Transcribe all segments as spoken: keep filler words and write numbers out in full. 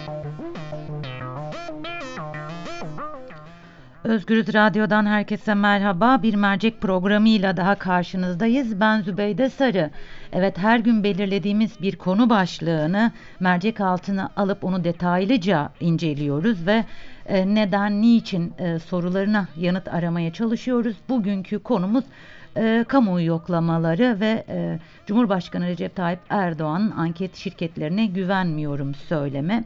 Özgürüz Radyo'dan herkese merhaba. Bir mercek programıyla daha karşınızdayız. Ben Zübeyde Sarı. Evet, her gün belirlediğimiz bir konu başlığını mercek altına alıp onu detaylıca inceliyoruz ve e, neden, niçin e, sorularına yanıt aramaya çalışıyoruz. Bugünkü konumuz e, kamuoyu yoklamaları ve e, Cumhurbaşkanı Recep Tayyip Erdoğan'ın anket şirketlerine güvenmiyorum söylemi.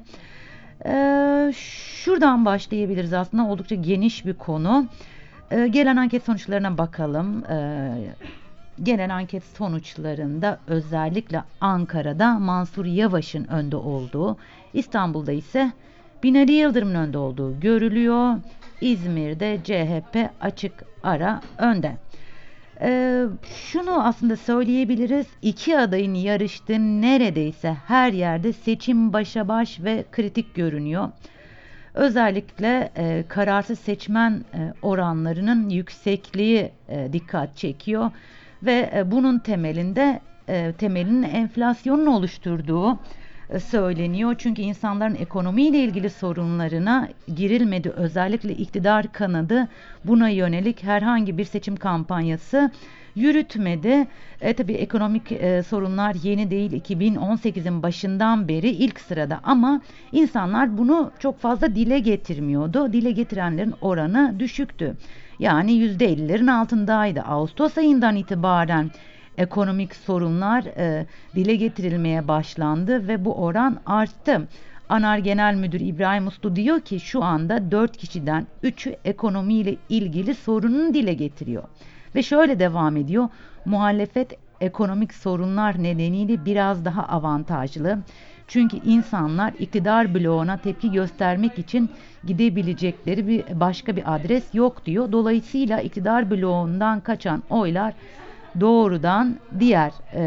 Ee, Şuradan başlayabiliriz, aslında oldukça geniş bir konu. Ee, gelen anket sonuçlarına bakalım. Ee, gelen anket sonuçlarında özellikle Ankara'da Mansur Yavaş'ın önde olduğu, İstanbul'da ise Binali Yıldırım'ın önde olduğu görülüyor. İzmir'de C H P açık ara önde. Ee, Şunu aslında söyleyebiliriz. İki adayın yarıştığı neredeyse her yerde seçim başa baş ve kritik görünüyor. Özellikle e, kararsız seçmen e, oranlarının yüksekliği e, dikkat çekiyor ve e, bunun temelinde e, temelinin enflasyonun oluşturduğu e, söyleniyor. Çünkü insanların ekonomiyle ilgili sorunlarına girilmedi. Özellikle iktidar kanadı buna yönelik herhangi bir seçim kampanyası yürütmedi. E, tabii ekonomik e, sorunlar yeni değil. iki bin on sekizin başından beri ilk sırada, ama insanlar bunu çok fazla dile getirmiyordu. Dile getirenlerin oranı düşüktü. Yani yüzde ellilerin altındaydı. Ağustos ayından itibaren ekonomik sorunlar e, dile getirilmeye başlandı ve bu oran arttı. ANAR Genel Müdürü İbrahim Uslu diyor ki şu anda dört kişiden üçü ekonomiyle ilgili sorununu dile getiriyor. Ve şöyle devam ediyor. Muhalefet ekonomik sorunlar nedeniyle biraz daha avantajlı. Çünkü insanlar iktidar bloğuna tepki göstermek için gidebilecekleri bir başka bir adres yok diyor. Dolayısıyla iktidar bloğundan kaçan oylar doğrudan diğer e,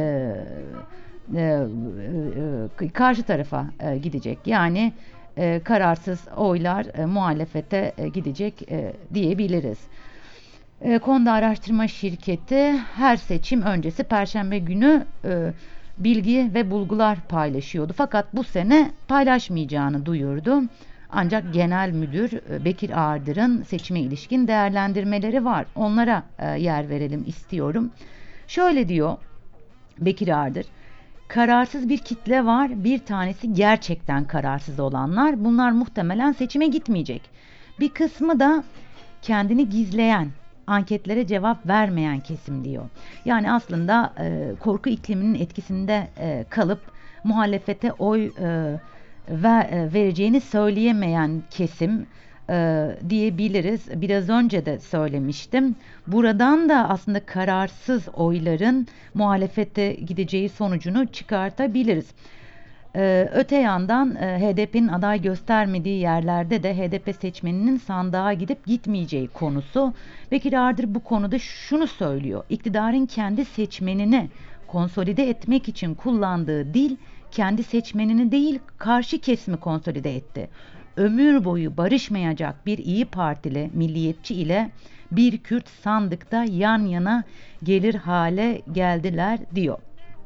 e, e, karşı tarafa e, gidecek. Yani e, kararsız oylar e, muhalefete e, gidecek e, diyebiliriz. E, Konda Araştırma Şirketi her seçim öncesi Perşembe günü e, bilgi ve bulgular paylaşıyordu. Fakat bu sene paylaşmayacağını duyurdu. Ancak Genel Müdür e, Bekir Ardır'ın seçime ilişkin değerlendirmeleri var. Onlara e, yer verelim istiyorum. Şöyle diyor Bekir Ardır. Kararsız bir kitle var. Bir tanesi gerçekten kararsız olanlar. Bunlar muhtemelen seçime gitmeyecek. Bir kısmı da kendini gizleyen, anketlere cevap vermeyen kesim diyor. Yani aslında e, korku ikliminin etkisinde e, kalıp muhalefete oy e, ver, e, vereceğini söyleyemeyen kesim e, diyebiliriz. Biraz önce de söylemiştim. Buradan da aslında kararsız oyların muhalefete gideceği sonucunu çıkartabiliriz. Ee, öte yandan e, H D P'nin aday göstermediği yerlerde de H D P seçmeninin sandığa gidip gitmeyeceği konusu. Bekir Ardır bu konuda şunu söylüyor. İktidarın kendi seçmenini konsolide etmek için kullandığı dil kendi seçmenini değil karşı kesimi konsolide etti. Ömür boyu barışmayacak bir İyi Partili milliyetçi ile bir Kürt sandıkta yan yana gelir hale geldiler diyor.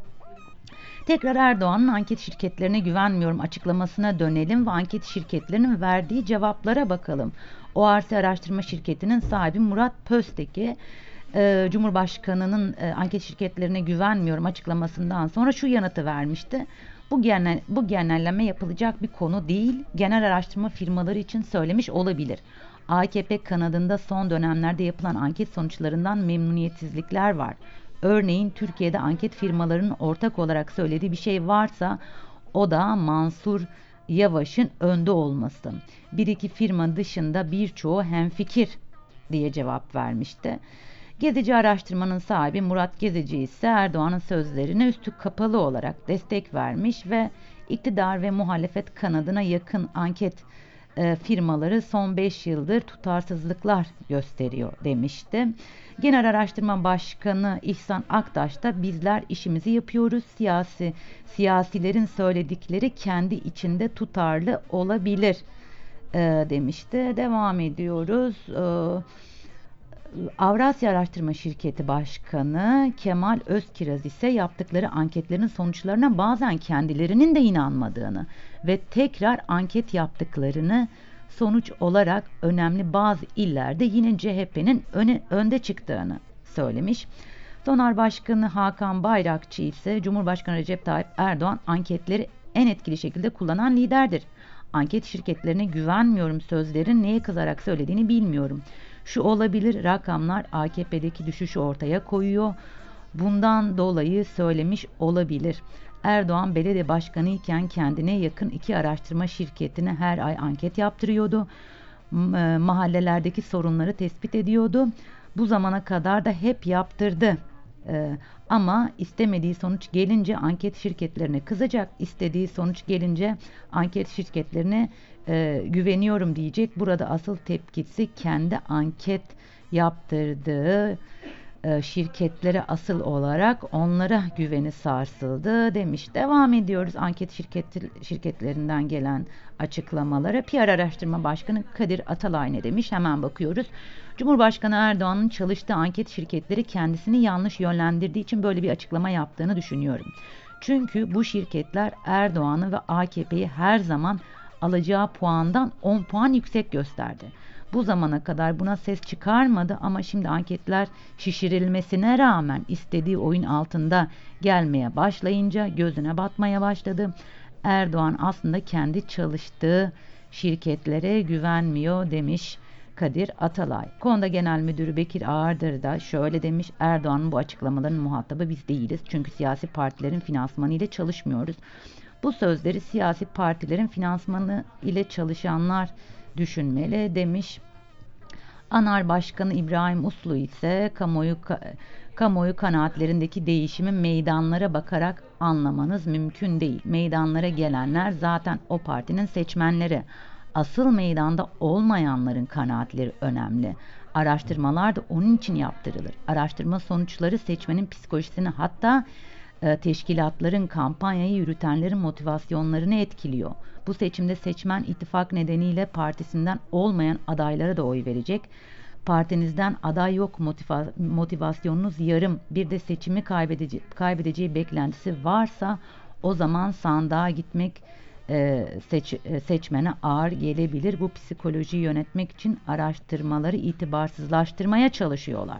Tekrar Erdoğan'ın anket şirketlerine güvenmiyorum açıklamasına dönelim ve anket şirketlerinin verdiği cevaplara bakalım. O R C Araştırma Şirketi'nin sahibi Murat Pözteki, e, Cumhurbaşkanı'nın e, anket şirketlerine güvenmiyorum açıklamasından sonra şu yanıtı vermişti. Bu genel bu genelleme yapılacak bir konu değil. Genel araştırma firmaları için söylemiş olabilir. A K P kanadında son dönemlerde yapılan anket sonuçlarından memnuniyetsizlikler var. Örneğin Türkiye'de anket firmalarının ortak olarak söylediği bir şey varsa o da Mansur Yavaş'ın önde olması. Bir iki firma dışında birçoğu hemfikir diye cevap vermişti. Gezici araştırmanın sahibi Murat Gezici ise Erdoğan'ın sözlerine üstü kapalı olarak destek vermiş ve iktidar ve muhalefet kanadına yakın anket e, firmaları son beş yıldır tutarsızlıklar gösteriyor demişti. Genel Araştırma Başkanı İhsan Aktaş da bizler işimizi yapıyoruz. Siyasi siyasilerin söyledikleri kendi içinde tutarlı olabilir e, demişti. Devam ediyoruz. E, Avrasya Araştırma Şirketi Başkanı Kemal Özkiraz ise yaptıkları anketlerin sonuçlarına bazen kendilerinin de inanmadığını ve tekrar anket yaptıklarını, sonuç olarak önemli bazı illerde yine C H P'nin öne, önde çıktığını söylemiş. Sonar Başkanı Hakan Bayrakçı ise Cumhurbaşkanı Recep Tayyip Erdoğan anketleri en etkili şekilde kullanan liderdir. Anket şirketlerine güvenmiyorum sözlerin neye kızarak söylediğini bilmiyorum. Şu olabilir, rakamlar A K P'deki düşüşü ortaya koyuyor. Bundan dolayı söylemiş olabilir. Erdoğan belediye başkanı iken kendine yakın iki araştırma şirketine her ay anket yaptırıyordu. Mahallelerdeki sorunları tespit ediyordu. Bu zamana kadar da hep yaptırdı. Ee, ama istemediği sonuç gelince anket şirketlerine kızacak. İstediği sonuç gelince anket şirketlerine e, güveniyorum diyecek. Burada asıl tepkisi kendi anket yaptırdığı e, şirketlere asıl olarak onlara güveni sarsıldı demiş. Devam ediyoruz anket şirket, şirketlerinden gelen açıklamalara. P R Araştırma Başkanı Kadir Atalay ne demiş? Hemen bakıyoruz. Cumhurbaşkanı Erdoğan'ın çalıştığı anket şirketleri kendisini yanlış yönlendirdiği için böyle bir açıklama yaptığını düşünüyorum. Çünkü bu şirketler Erdoğan'ı ve A K P'yi her zaman alacağı puandan on puan yüksek gösterdi. Bu zamana kadar buna ses çıkarmadı ama şimdi anketler şişirilmesine rağmen istediği oyun altında gelmeye başlayınca gözüne batmaya başladı. Erdoğan aslında kendi çalıştığı şirketlere güvenmiyor demiş Kadir Atalay. Konda Genel Müdürü Bekir Ağırdır da şöyle demiş: Erdoğan'ın bu açıklamaların muhatabı biz değiliz. Çünkü siyasi partilerin finansmanı ile çalışmıyoruz. Bu sözleri siyasi partilerin finansmanı ile çalışanlar düşünmeli demiş. ANAR Başkanı İbrahim Uslu ise kamuoyu kamuoyu kanaatlerindeki değişimi meydanlara bakarak anlamanız mümkün değil. Meydanlara gelenler zaten o partinin seçmenleri. Asıl meydanda olmayanların kanaatleri önemli. Araştırmalar da onun için yaptırılır. Araştırma sonuçları seçmenin psikolojisini, hatta e, teşkilatların, kampanyayı yürütenlerin motivasyonlarını etkiliyor. Bu seçimde seçmen ittifak nedeniyle partisinden olmayan adaylara da oy verecek. Partinizden aday yok, motiva- motivasyonunuz yarım, bir de seçimi kaybedece- kaybedeceği beklentisi varsa o zaman sandığa gitmek e, seç- e, seçmene ağır gelebilir. Bu psikolojiyi yönetmek için araştırmaları itibarsızlaştırmaya çalışıyorlar.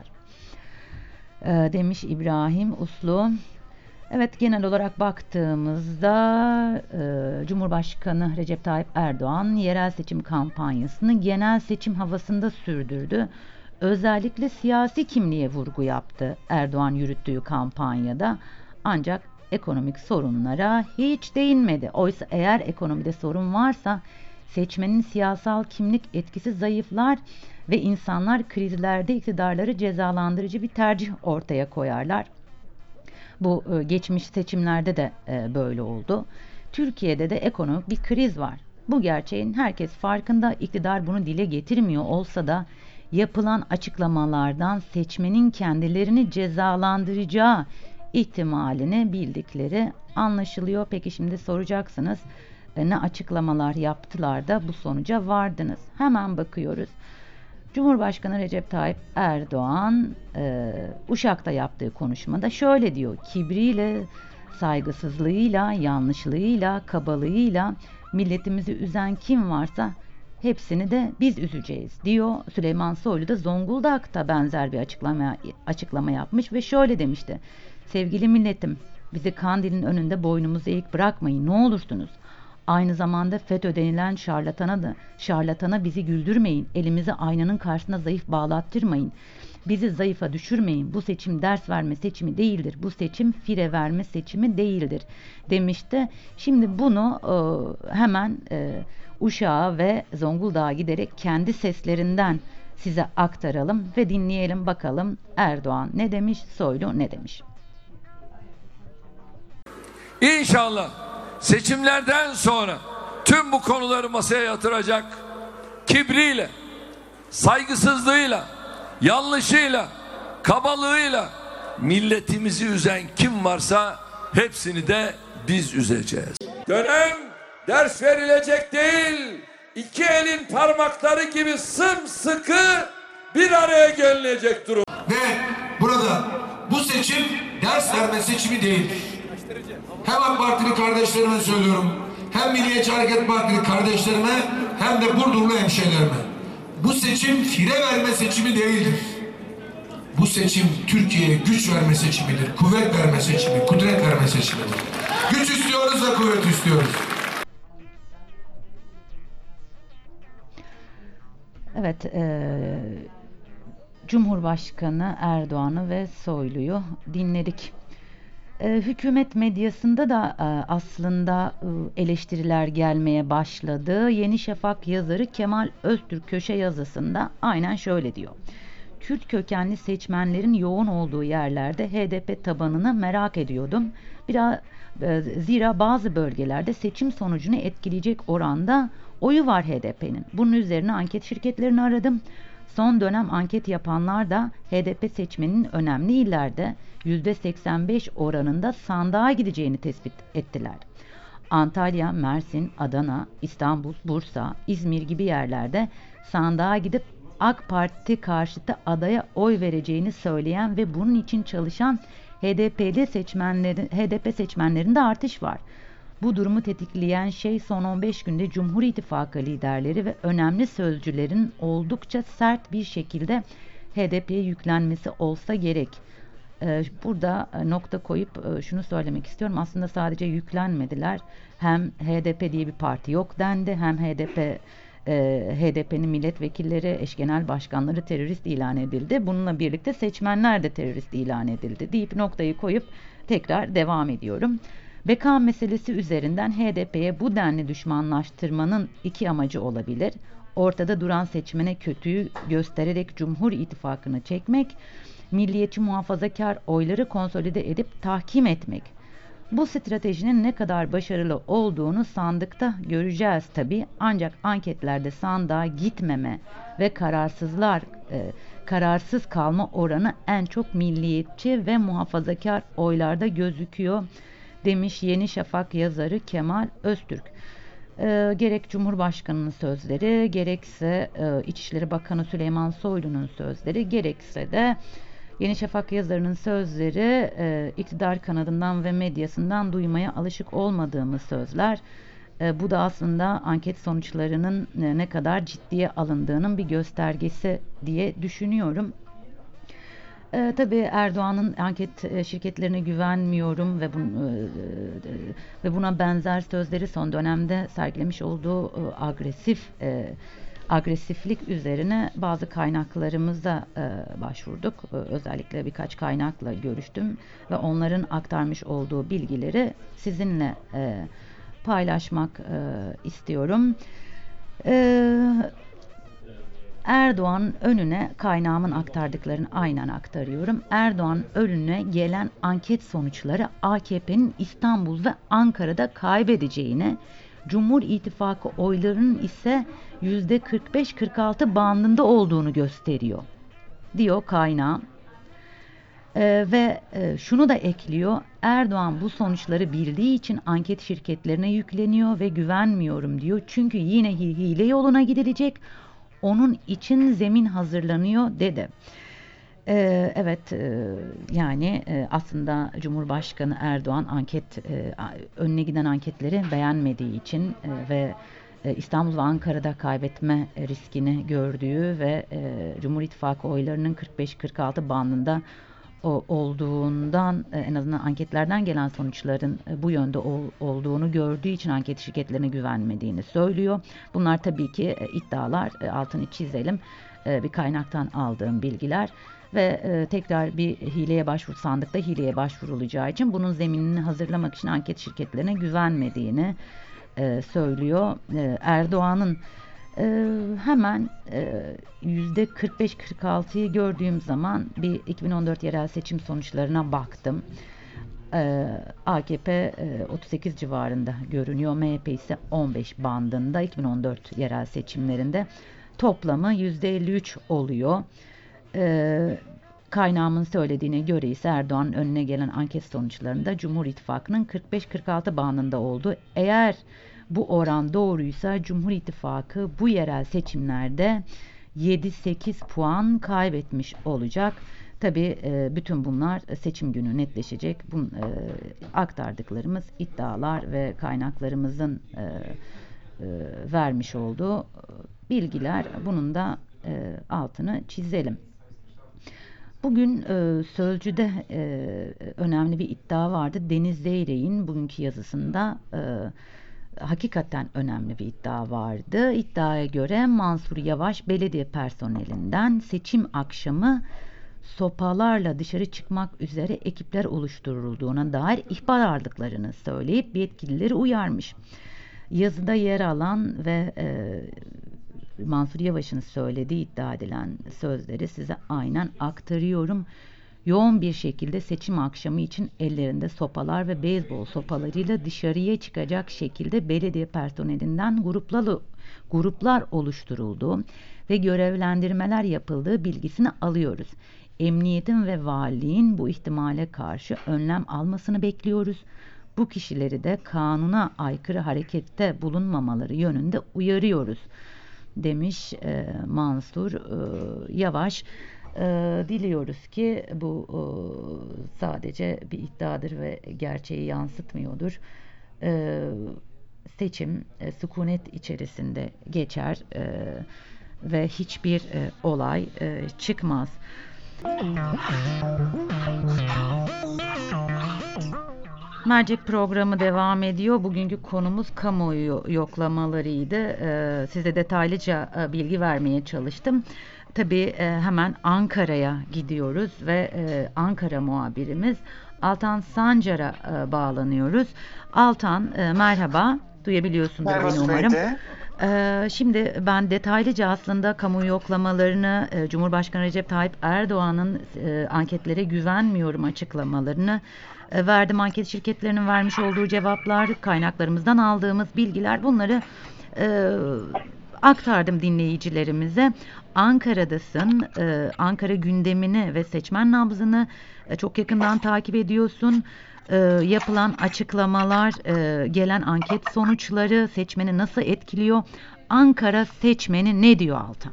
E, demiş İbrahim Uslu. Evet, genel olarak baktığımızda e, Cumhurbaşkanı Recep Tayyip Erdoğan yerel seçim kampanyasını genel seçim havasında sürdürdü. Özellikle siyasi kimliğe vurgu yaptı Erdoğan yürüttüğü kampanyada. Ancak ekonomik sorunlara hiç değinmedi. Oysa eğer ekonomide sorun varsa seçmenin siyasal kimlik etkisi zayıflar ve insanlar krizlerde iktidarları cezalandırıcı bir tercih ortaya koyarlar. Bu geçmiş seçimlerde de böyle oldu. Türkiye'de de ekonomik bir kriz var. Bu gerçeğin herkes farkında. İktidar bunu dile getirmiyor olsa da yapılan açıklamalardan seçmenin kendilerini cezalandıracağı ihtimalini bildikleri anlaşılıyor. Peki şimdi soracaksınız, ne açıklamalar yaptılar da bu sonuca vardınız? Hemen bakıyoruz. Cumhurbaşkanı Recep Tayyip Erdoğan e, Uşak'ta yaptığı konuşmada şöyle diyor: kibriyle, saygısızlığıyla, yanlışlığıyla, kabalığıyla milletimizi üzen kim varsa hepsini de biz üzeceğiz diyor. Süleyman Soylu da Zonguldak'ta benzer bir açıklama açıklama yapmış ve şöyle demişti: sevgili milletim, bizi Kandil'in önünde boynumuzu eğik bırakmayın ne olursunuz. Aynı zamanda FETÖ denilen şarlatana da şarlatana bizi güldürmeyin. Elimizi aynanın karşısına zayıf bağlattırmayın. Bizi zayıfa düşürmeyin. Bu seçim ders verme seçimi değildir. Bu seçim fire verme seçimi değildir demişti. Şimdi bunu e, hemen e, Uşak'a ve Zonguldak'a giderek kendi seslerinden size aktaralım ve dinleyelim bakalım Erdoğan ne demiş, Soylu ne demiş. İnşallah seçimlerden sonra tüm bu konuları masaya yatıracak, kibriyle, saygısızlığıyla, yanlışıyla, kabalığıyla milletimizi üzen kim varsa hepsini de biz üzeceğiz. Dönem ders verilecek değil, iki elin parmakları gibi sımsıkı bir araya gelinecek durum. Ve burada bu seçim ders verme seçimi değildir. Hem AK Partili kardeşlerime söylüyorum, hem Milliyetçi Hareket Partili kardeşlerime, hem de Burdurlu hemşehrilerime. Bu seçim fire verme seçimi değildir. Bu seçim Türkiye'ye güç verme seçimidir, kuvvet verme seçimi, kudret verme seçimidir. Güç istiyoruz ve kuvvet istiyoruz. Evet, e, Cumhurbaşkanı Erdoğan'ı ve Soylu'yu dinledik. E, hükümet medyasında da e, aslında e, eleştiriler gelmeye başladı. Yeni Şafak yazarı Kemal Öztürk köşe yazısında aynen şöyle diyor. Kürt kökenli seçmenlerin yoğun olduğu yerlerde H D P tabanını merak ediyordum. Biraz e, zira bazı bölgelerde seçim sonucunu etkileyecek oranda oyu var H D P'nin. Bunun üzerine anket şirketlerini aradım. Son dönem anket yapanlar da H D P seçmeninin önemli illerde yüzde seksen beş oranında sandığa gideceğini tespit ettiler. Antalya, Mersin, Adana, İstanbul, Bursa, İzmir gibi yerlerde sandığa gidip AK Parti karşıtı adaya oy vereceğini söyleyen ve bunun için çalışan H D P'li seçmenlerin, H D P seçmenlerinde artış var. Bu durumu tetikleyen şey son on beş günde Cumhur İttifakı liderleri ve önemli sözcülerin oldukça sert bir şekilde H D P'ye yüklenmesi olsa gerek. Ee, burada nokta koyup şunu söylemek istiyorum. Aslında sadece yüklenmediler. Hem H D P diye bir parti yok dendi, hem H D P H D P'nin milletvekilleri, eş genel başkanları terörist ilan edildi. Bununla birlikte seçmenler de terörist ilan edildi deyip noktayı koyup tekrar devam ediyorum. Beka meselesi üzerinden H D P'ye bu denli düşmanlaştırmanın iki amacı olabilir. Ortada duran seçmene kötüyü göstererek Cumhur İttifakı'nı çekmek, milliyetçi muhafazakar oyları konsolide edip tahkim etmek. Bu stratejinin ne kadar başarılı olduğunu sandıkta göreceğiz tabii. Ancak anketlerde sandığa gitmeme ve kararsızlar e, kararsız kalma oranı en çok milliyetçi ve muhafazakar oylarda gözüküyor demiş Yeni Şafak yazarı Kemal Öztürk. E, gerek Cumhurbaşkanı'nın sözleri, gerekse e, İçişleri Bakanı Süleyman Soylu'nun sözleri, gerekse de Yeni Şafak yazarının sözleri e, iktidar kanadından ve medyasından duymaya alışık olmadığımız sözler. E, bu da aslında anket sonuçlarının e, ne kadar ciddiye alındığının bir göstergesi diye düşünüyorum. E, tabii Erdoğan'ın anket e, şirketlerine güvenmiyorum ve, bun, e, e, ve buna benzer sözleri son dönemde sergilemiş olduğu e, agresif e, agresiflik üzerine bazı kaynaklarımıza e, başvurduk. E, özellikle birkaç kaynakla görüştüm ve onların aktarmış olduğu bilgileri sizinle e, paylaşmak e, istiyorum. E, Erdoğan önüne kaynağımın aktardıklarını aynen aktarıyorum. Erdoğan önüne gelen anket sonuçları A K P'nin İstanbul ve Ankara'da kaybedeceğini, Cumhur İttifakı oylarının ise yüzde kırk beş kırk altı bandında olduğunu gösteriyor, diyor kaynağım. Ee, ve e, şunu da ekliyor. Erdoğan bu sonuçları bildiği için anket şirketlerine yükleniyor ve güvenmiyorum diyor. Çünkü yine hile yoluna gidilecek. Onun için zemin hazırlanıyor dedi. Ee, evet e, yani e, aslında Cumhurbaşkanı Erdoğan anket e, önüne giden anketleri beğenmediği için e, ve e, İstanbul ve Ankara'da kaybetme riskini gördüğü ve e, Cumhur İttifakı oylarının kırk beş kırk altı bandında o, olduğundan e, en azından anketlerden gelen sonuçların e, bu yönde ol, olduğunu gördüğü için anket şirketlerine güvenmediğini söylüyor. Bunlar tabii ki e, iddialar, e, altını çizelim, e, bir kaynaktan aldığım bilgiler. Ve e, tekrar bir hileye başvur sandıkta hileye başvurulacağı için bunun zeminini hazırlamak için anket şirketlerine güvenmediğini e, söylüyor. E, Erdoğan'ın e, hemen e, yüzde kırk beş kırk altıyı gördüğüm zaman bir iki bin on dört yerel seçim sonuçlarına baktım. E, A K P e, otuz sekiz civarında görünüyor. M H P ise on beş bandında. iki bin on dört yerel seçimlerinde toplamı yüzde elli üç oluyor. Ee, kaynağımın söylediğine göre ise Erdoğan'ın önüne gelen anket sonuçlarında Cumhur İttifakı'nın kırk beş kırk altı bandında oldu. Eğer bu oran doğruysa Cumhur İttifakı bu yerel seçimlerde yedi sekiz puan kaybetmiş olacak. Tabii e, bütün bunlar seçim günü netleşecek. Bu e, aktardıklarımız iddialar ve kaynaklarımızın e, e, vermiş olduğu bilgiler. Bunun da e, altını çizelim. Bugün e, Sözcü'de e, önemli bir iddia vardı. Deniz Zeyrek'in bugünkü yazısında e, hakikaten önemli bir iddia vardı. İddiaya göre Mansur Yavaş belediye personelinden seçim akşamı sopalarla dışarı çıkmak üzere ekipler oluşturulduğuna dair ihbar aldıklarını söyleyip yetkilileri uyarmış. Yazıda yer alan ve e, Mansur Yavaş'ın söylediği iddia edilen sözleri size aynen aktarıyorum. Yoğun bir şekilde seçim akşamı için ellerinde sopalar ve beyzbol sopalarıyla dışarıya çıkacak şekilde belediye personelinden gruplar, gruplar oluşturulduğu ve görevlendirmeler yapıldığı bilgisini alıyoruz. Emniyetin ve valiliğin bu ihtimale karşı önlem almasını bekliyoruz. Bu kişileri de kanuna aykırı harekette bulunmamaları yönünde uyarıyoruz demiş e, Mansur e, Yavaş. E, diliyoruz ki bu e, sadece bir iddiadır ve gerçeği yansıtmıyordur. E, seçim e, sükunet içerisinde geçer e, ve hiçbir e, olay e, çıkmaz. Mercek programı devam ediyor. Bugünkü konumuz kamuoyu yoklamalarıydı. Ee, size detaylıca e, bilgi vermeye çalıştım. Tabii e, hemen Ankara'ya gidiyoruz ve e, Ankara muhabirimiz Altan Sancar'a e, bağlanıyoruz. Altan e, merhaba. Duyabiliyorsundur beni umarım. Ee, şimdi ben detaylıca aslında kamu yoklamalarını, e, Cumhurbaşkanı Recep Tayyip Erdoğan'ın e, anketlere güvenmiyorum açıklamalarını e, verdim. Anket şirketlerinin vermiş olduğu cevaplar, kaynaklarımızdan aldığımız bilgiler, bunları e, aktardım dinleyicilerimize. Ankara'dasın, e, Ankara gündemini ve seçmen nabzını e, çok yakından takip ediyorsun. E, yapılan açıklamalar, e, gelen anket sonuçları seçmeni nasıl etkiliyor? Ankara seçmeni ne diyor Altan?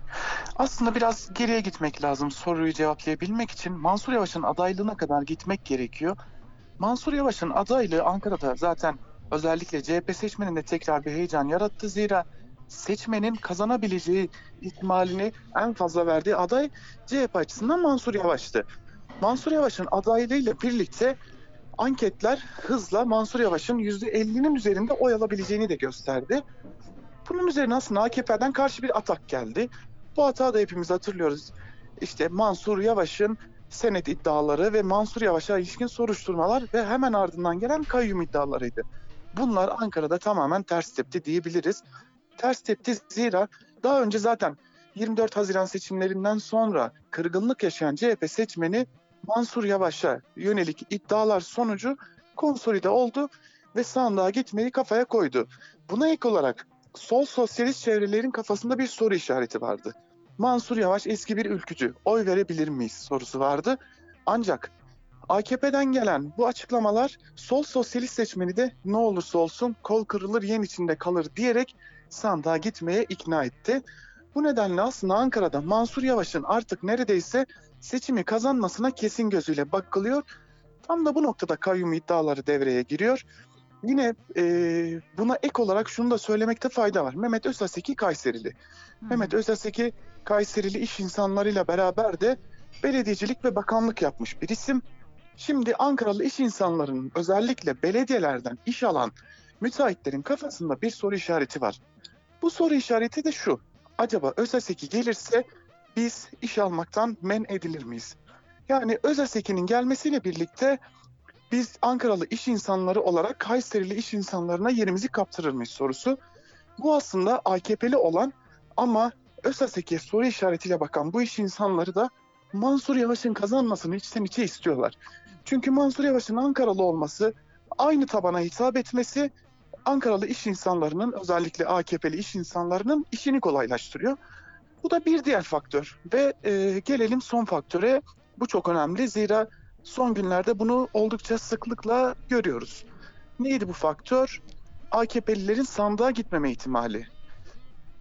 Aslında biraz geriye gitmek lazım soruyu cevaplayabilmek için. Mansur Yavaş'ın adaylığına kadar gitmek gerekiyor. Mansur Yavaş'ın adaylığı Ankara'da zaten özellikle C H P seçmeninde tekrar bir heyecan yarattı. Zira seçmenin kazanabileceği ihtimalini en fazla verdiği aday C H P açısından Mansur Yavaş'tı. Mansur Yavaş'ın adaylığıyla birlikte anketler hızla Mansur Yavaş'ın yüzde ellinin üzerinde oy alabileceğini de gösterdi. Bunun üzerine aslında A K P'den karşı bir atak geldi. Bu atağı da hepimiz hatırlıyoruz. İşte Mansur Yavaş'ın senet iddiaları ve Mansur Yavaş'a ilişkin soruşturmalar ve hemen ardından gelen kayyum iddialarıydı. Bunlar Ankara'da tamamen ters tepti diyebiliriz. Ters tepti zira daha önce zaten yirmi dört Haziran seçimlerinden sonra kırgınlık yaşayan C H P seçmeni Mansur Yavaş'a yönelik iddialar sonucu konsolide oldu ve sandığa gitmeyi kafaya koydu. Buna ek olarak sol sosyalist çevrelerin kafasında bir soru işareti vardı. Mansur Yavaş eski bir ülkücü, oy verebilir miyiz sorusu vardı. Ancak A K P'den gelen bu açıklamalar sol sosyalist seçmeni de ne olursa olsun kol kırılır yen içinde kalır diyerek sandığa gitmeye ikna etti. Bu nedenle aslında Ankara'da Mansur Yavaş'ın artık neredeyse seçimi kazanmasına kesin gözüyle bakılıyor. Tam da bu noktada kayyum iddiaları devreye giriyor. Yine e, buna ek olarak şunu da söylemekte fayda var. Mehmet Özaseki Kayserili. Hmm. Mehmet Özaseki Kayserili iş insanlarıyla beraber de belediyecilik ve bakanlık yapmış bir isim. Şimdi Ankaralı iş insanlarının özellikle belediyelerden iş alan müteahhitlerin kafasında bir soru işareti var. Bu soru işareti de şu. Acaba Özaseki gelirse biz iş almaktan men edilir miyiz? Yani Özaseki'nin gelmesiyle birlikte biz Ankaralı iş insanları olarak Kayserili iş insanlarına yerimizi kaptırır mıyız sorusu. Bu aslında A K P'li olan ama Özaseki'ye soru işaretiyle bakan bu iş insanları da Mansur Yavaş'ın kazanmasını içten içe istiyorlar. Çünkü Mansur Yavaş'ın Ankaralı olması, aynı tabana hitap etmesi Ankaralı iş insanlarının, özellikle A K P'li iş insanlarının işini kolaylaştırıyor. Bu da bir diğer faktör ve e, gelelim son faktöre. Bu çok önemli zira son günlerde bunu oldukça sıklıkla görüyoruz. Neydi bu faktör? A K P'lilerin sandığa gitmeme ihtimali.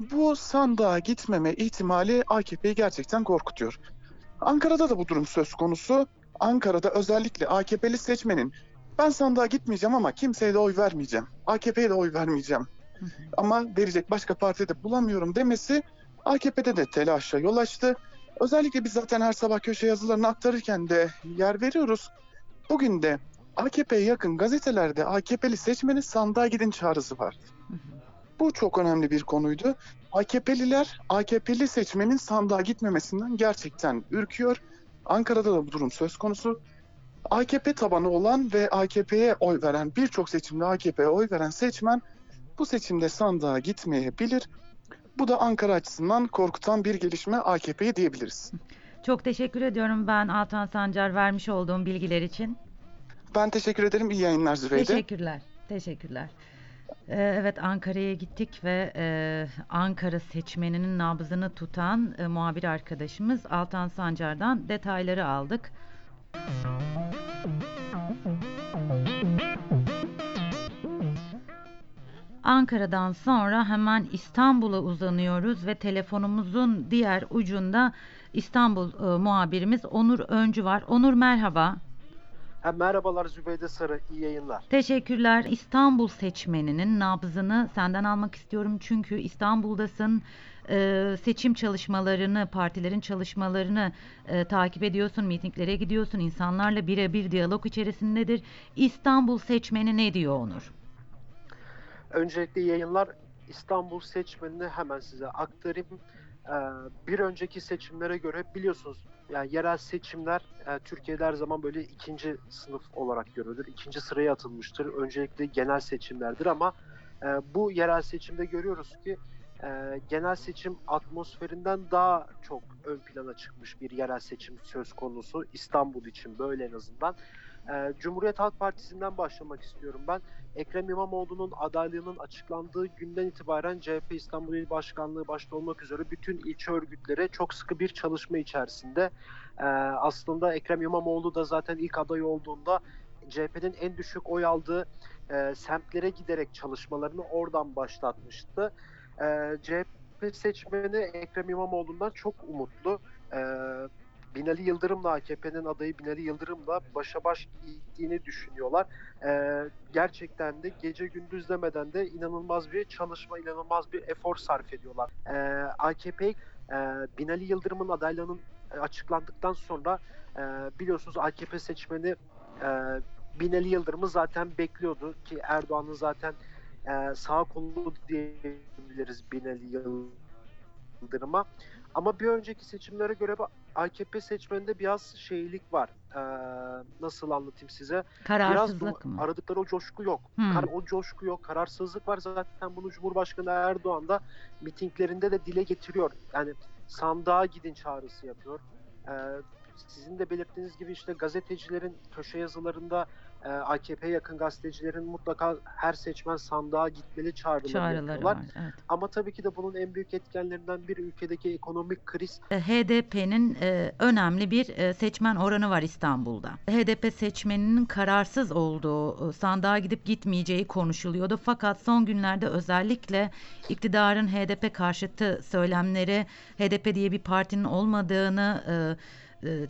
Bu sandığa gitmeme ihtimali A K P'yi gerçekten korkutuyor. Ankara'da da bu durum söz konusu. Ankara'da özellikle A K P'li seçmenin ben sandığa gitmeyeceğim ama kimseye de oy vermeyeceğim, A K P'ye de oy vermeyeceğim ama verecek başka parti de bulamıyorum demesi A K P'de de telaşa yol açtı. Özellikle biz zaten her sabah köşe yazılarını aktarırken de yer veriyoruz. Bugün de A K P'ye yakın gazetelerde A K P'li seçmenin sandığa gidin çağrısı var. Bu çok önemli bir konuydu. A K P'liler, A K P'li seçmenin sandığa gitmemesinden gerçekten ürküyor. Ankara'da da bu durum söz konusu. A K P tabanı olan ve A K P'ye oy veren, birçok seçimde A K P'ye oy veren seçmen bu seçimde sandığa gitmeyebilir. Bu da Ankara açısından korkutan bir gelişme A K P'ye diyebiliriz. Çok teşekkür ediyorum ben Altan Sancar vermiş olduğum bilgiler için. Ben teşekkür ederim. İyi yayınlar Zübeyde. Teşekkürler. Teşekkürler. Ee, evet, Ankara'ya gittik ve e, Ankara seçmeninin nabzını tutan e, muhabir arkadaşımız Altan Sancar'dan detayları aldık. Ankara'dan sonra hemen İstanbul'a uzanıyoruz ve telefonumuzun diğer ucunda İstanbul e, muhabirimiz Onur Öncü var. Onur, merhaba. Ha, merhabalar Zübeyde Sarı, iyi yayınlar. Teşekkürler. İstanbul seçmeninin nabzını senden almak istiyorum çünkü İstanbul'dasın. Ee, seçim çalışmalarını, partilerin çalışmalarını e, takip ediyorsun, mitinglere gidiyorsun, insanlarla birebir diyalog içerisindedir. İstanbul seçmeni ne diyor Onur? Öncelikle iyi yayınlar. İstanbul seçmenini hemen size aktarayım. Ee, bir önceki seçimlere göre biliyorsunuz yani yerel seçimler e, Türkiye'de her zaman böyle ikinci sınıf olarak görülür. İkinci sıraya atılmıştır. Öncelikle genel seçimlerdir ama e, bu yerel seçimde görüyoruz ki e, genel seçim atmosferinden daha çok ön plana çıkmış bir yerel seçim söz konusu. İstanbul için böyle en azından. E, Cumhuriyet Halk Partisi'nden başlamak istiyorum ben. Ekrem İmamoğlu'nun adaylığının açıklandığı günden itibaren C H P İstanbul İl Başkanlığı başta olmak üzere bütün ilçe örgütleri çok sıkı bir çalışma içerisinde. Ee, aslında Ekrem İmamoğlu da zaten ilk aday olduğunda C H P'nin en düşük oy aldığı e, semtlere giderek çalışmalarını oradan başlatmıştı. Ee, C H P seçmeni Ekrem İmamoğlu'ndan çok umutlu. Ee, Binali Yıldırım'la A K P'nin adayı Binali Yıldırım'la başa baş gittiğini düşünüyorlar. Ee, gerçekten de gece gündüz demeden de inanılmaz bir çalışma, inanılmaz bir efor sarf ediyorlar. Ee, A K P e, Binali Yıldırım'ın adaylığının açıklandıktan sonra e, biliyorsunuz A K P seçmeni e, Binali Yıldırım'ı zaten bekliyordu ki Erdoğan'ın zaten e, sağ kolu diyebiliriz Binali Yıldırım'a. Ama bir önceki seçimlere göre A K P seçmeninde biraz şeylik var. Ee, nasıl anlatayım size? Kararsızlık Biraz mı? aradıkları o coşku yok. Hmm. Kar, o coşku yok. Kararsızlık var. Zaten bunu Cumhurbaşkanı Erdoğan da mitinglerinde de dile getiriyor. Yani sandığa gidin çağrısı yapıyor. Ee, sizin de belirttiğiniz gibi işte gazetecilerin köşe yazılarında e, A K P'ye yakın gazetecilerin mutlaka her seçmen sandığa gitmeli çağrıları, Çağrıları yapıyorlar. var. Evet. Ama tabii ki de bunun en büyük etkenlerinden biri ülkedeki ekonomik kriz. H D P'nin e, önemli bir e, seçmen oranı var İstanbul'da. H D P seçmeninin kararsız olduğu, e, sandığa gidip gitmeyeceği konuşuluyordu. Fakat son günlerde özellikle iktidarın H D P karşıtı söylemleri, H D P diye bir partinin olmadığını, e, e,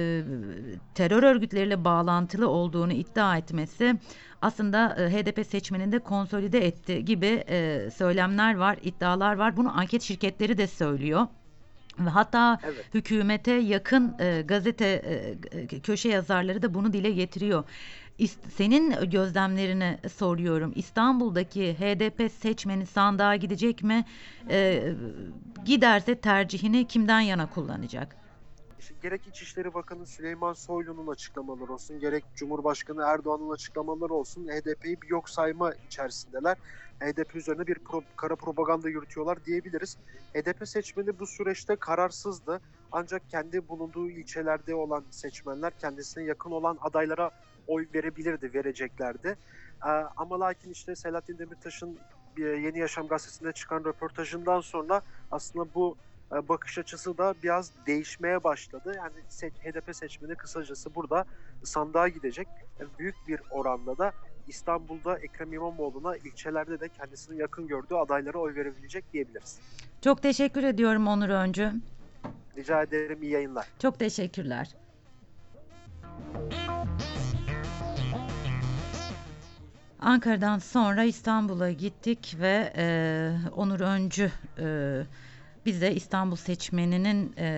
terör örgütleriyle bağlantılı olduğunu iddia etmesi aslında e, H D P seçmenini de konsolide etti gibi e, söylemler var, iddialar var. Bunu anket şirketleri de söylüyor. Ve hatta Evet. hükümete yakın e, gazete e, köşe yazarları da bunu dile getiriyor. İst- Senin gözlemlerini soruyorum. İstanbul'daki H D P seçmeni sandığa gidecek mi? E, giderse tercihini kimden yana kullanacak? İşte gerek İçişleri Bakanı Süleyman Soylu'nun açıklamaları olsun, gerek Cumhurbaşkanı Erdoğan'ın açıklamaları olsun, H D P'yi bir yok sayma içerisindeler. H D P üzerine bir pro, kara propaganda yürütüyorlar diyebiliriz. H D P seçmeni bu süreçte kararsızdı. Ancak kendi bulunduğu ilçelerde olan seçmenler kendisine yakın olan adaylara oy verebilirdi, vereceklerdi. Ee, ama lakin işte Selahattin Demirtaş'ın Yeni Yaşam gazetesinde çıkan röportajından sonra aslında bu bakış açısı da biraz değişmeye başladı. Yani H D P seçmeni kısacası burada sandığa gidecek. Büyük bir oranda da İstanbul'da Ekrem İmamoğlu'na, ilçelerde de kendisinin yakın gördüğü adaylara oy verebilecek diyebiliriz. Çok teşekkür ediyorum Onur Öncü. Rica ederim, iyi yayınlar. Çok teşekkürler. Ankara'dan sonra İstanbul'a gittik ve e, Onur Öncü e, bize İstanbul seçmeninin e,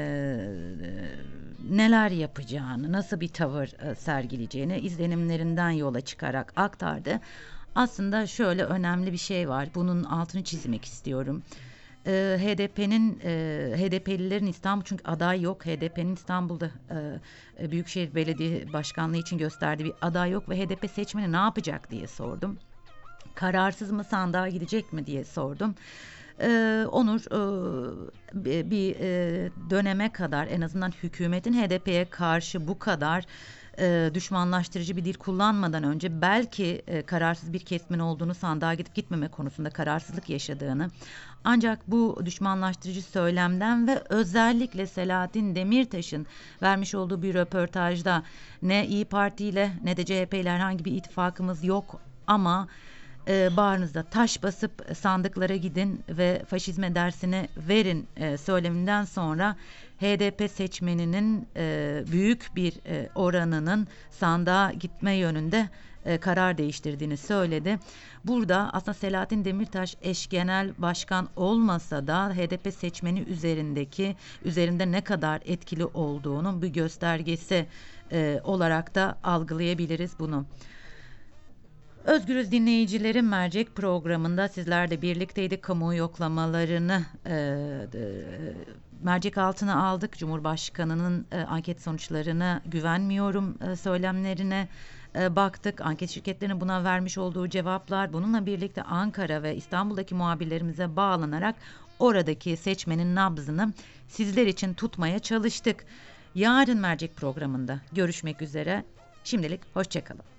neler yapacağını, nasıl bir tavır e, sergileyeceğini izlenimlerinden yola çıkarak aktardı. Aslında şöyle önemli bir şey var. Bunun altını çizmek istiyorum. E, H D P'nin e, H D P'lilerin İstanbul, çünkü aday yok. H D P'nin İstanbul'da e, Büyükşehir Belediye Başkanlığı için gösterdiği bir aday yok ve H D P seçmeni ne yapacak diye sordum. Kararsız mı, sandığa gidecek mi diye sordum. Ee, Onur e, bir e, döneme kadar en azından hükümetin H D P'ye karşı bu kadar e, düşmanlaştırıcı bir dil kullanmadan önce belki e, kararsız bir kesimin olduğunu, sandığa gidip gitmeme konusunda kararsızlık yaşadığını, ancak bu düşmanlaştırıcı söylemden ve özellikle Selahattin Demirtaş'ın vermiş olduğu bir röportajda ne İYİ Parti ile ne de C H P ile herhangi bir ittifakımız yok ama e, bağrınızda taş basıp sandıklara gidin ve faşizme dersini verin e, söyleminden sonra H D P seçmeninin e, büyük bir e, oranının sandığa gitme yönünde e, karar değiştirdiğini söyledi. Burada aslında Selahattin Demirtaş eş genel başkan olmasa da H D P seçmeni üzerindeki üzerinde ne kadar etkili olduğunun bir göstergesi e, olarak da algılayabiliriz bunu. Özgürüz dinleyicilerim, mercek programında sizlerle birlikteydik. Kamuoyu yoklamalarını e, e, mercek altına aldık. Cumhurbaşkanının e, anket sonuçlarına güvenmiyorum e, söylemlerine e, baktık. Anket şirketlerinin buna vermiş olduğu cevaplar, bununla birlikte Ankara ve İstanbul'daki muhabirlerimize bağlanarak oradaki seçmenin nabzını sizler için tutmaya çalıştık. Yarın mercek programında görüşmek üzere. Şimdilik hoşça kalın.